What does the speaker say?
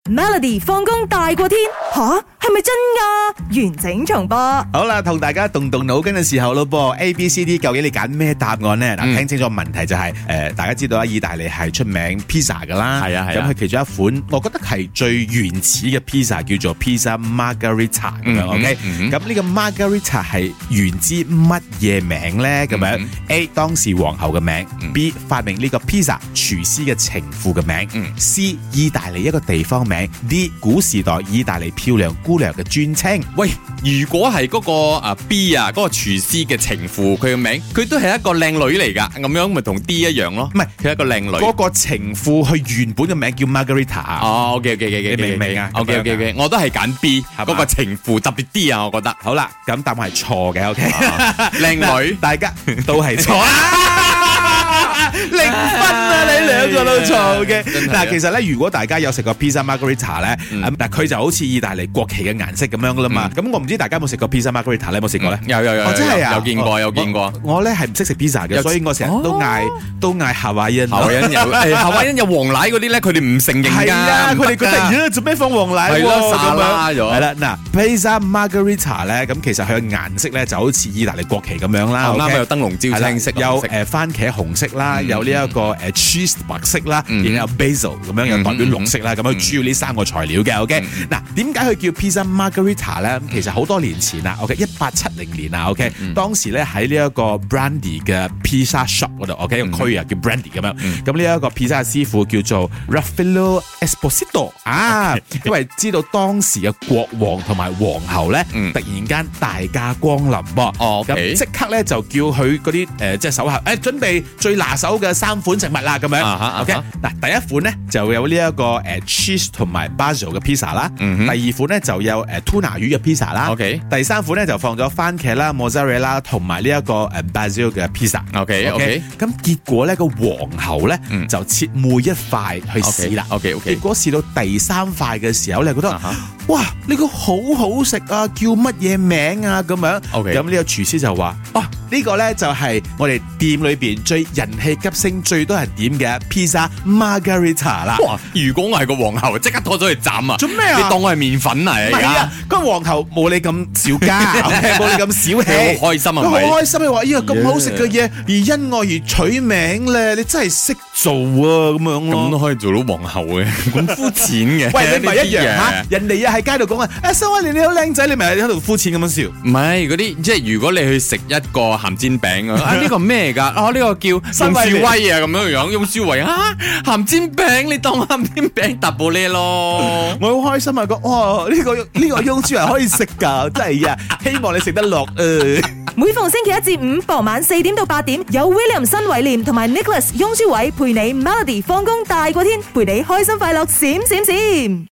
Melody 放工大過天吓，係咪真㗎？完整重播。 好啦，同大家動腦筋嘅時候咯噃 ，A、B、C、D 究竟你揀咩答案呢？嗱，聽清楚問題就係大家知道啊，意大利係出名 pizza 噶啦， 係啊， 咁佢其中一款，我覺得係最原始嘅 pizza 叫做 pizza margherita 咁樣 ，OK？咁呢個 margherita 係源自乜嘢名呢？咁樣 A 當時皇后嘅名，B 發明呢個 pizza 廚師嘅情婦嘅名，C 意大利一個地方名，D 古時代意大利漂亮姑娘嘅尊稱。 喂，如果係嗰個B 啊，嗰個廚師嘅情婦，佢嘅名佢都係一個靚女嚟噶，咁樣咪同 D 一樣咯。 唔係， 佢係一個靚女。 嗰個情婦佢原本嘅名叫 Margherita。 哦，OK， 你明唔明啊 ？OK，我都係揀 B，嗰個情婦特別啲啊，我覺得。 好啦，咁答案係錯嘅，OK。 靚女， 大家都係錯。0分啊！你兩個都錯嘅。嗱，其實咧，如果大家有食過 pizza margherita 咧，嗱，佢就好似意大利國旗嘅顏色咁樣噶啦嘛。咁我唔知大家有冇食過 pizza margherita 咧？有冇食過咧？ 有， 真係啊！ 有見過。 我咧係唔識食 pizza 嘅，所以我成日都嗌夏威夷。 夏威夷有黃奶嗰啲咧，佢哋唔承認㗎。 係啊，佢哋覺得做咩放黃奶？ 係咯，沙拉咗。 係啦，嗱 pizza margherita 咧，咁其實佢嘅顏色咧就好似意大利國旗咁樣啦。 啱，有燈籠招青色， 有番茄紅色啦，有呢一個cheese 白色啦，然後有 basil 咁樣又代表綠色啦，咁樣主要呢三個材料嘅。OK， 嗱，點解佢叫 pizza margherita 咧？其實好多年前啦 ，OK，1870年啊 ，OK，當時咧喺呢一個 Brandy 嘅 pizza shop 嗰度 ，OK， 個區啊叫 Brandy 咁樣。咁呢一個 pizza 師傅叫做 Raffaello Esposito 啊，因為知道當時嘅國王同埋皇后咧，突然間大駕光臨噃，咁即刻咧就叫佢嗰啲即係手下，準備最拿手嘅3款食物啦，咁樣。OK， 嗱，第一款咧就有呢一個cheese 同埋 basil 嘅 pizza 啦，第二款咧就有tuna 魚嘅 pizza 啦，OK， 第三款咧就放咗番茄啦、mozzarella 同埋呢一個basil 嘅 pizza，OK， 咁結果咧個皇后咧就切每一塊去試啦，OK， 結果試到第3塊嘅時候，你覺得哇呢個好好食啊，叫乜嘢名啊咁樣，咁呢個廚師就話呢個咧就係我哋店裏邊最人氣急升、最多人點嘅 pizza margherita 啦。 哇！如果我係個皇后，即刻拖咗去斬啊！ 做咩啊？ 你當我係麵粉嚟？ 係啊，個皇后冇你咁小家，冇你咁小氣， 好開心啊！ 佢好開心，你話咦咁好食嘅嘢，而因我而取名咧，你真係識做啊咁樣咯。 咁都可以做到皇后嘅，咁膚淺嘅。 喂，你咪一樣嚇，人哋又喺街度講啊，收威你好靚仔，你咪喺度膚淺咁樣笑。 唔係嗰啲，即係如果你去食一個鹹煎餅啊，呢個咩㗎？呢個叫翁舒威啊，咁樣樣，翁舒威啊，鹹煎餅你當鹹煎餅搭布呢咯。 我好開心啊！講哇，呢個翁舒威可以食㗎，真係啊！希望你食得落每逢星期一至五傍晚4點到8點，有 William 新偉廉同埋 Nicholas 翁舒偉陪你 Melody 放工大過天，陪你開心快樂閃閃閃。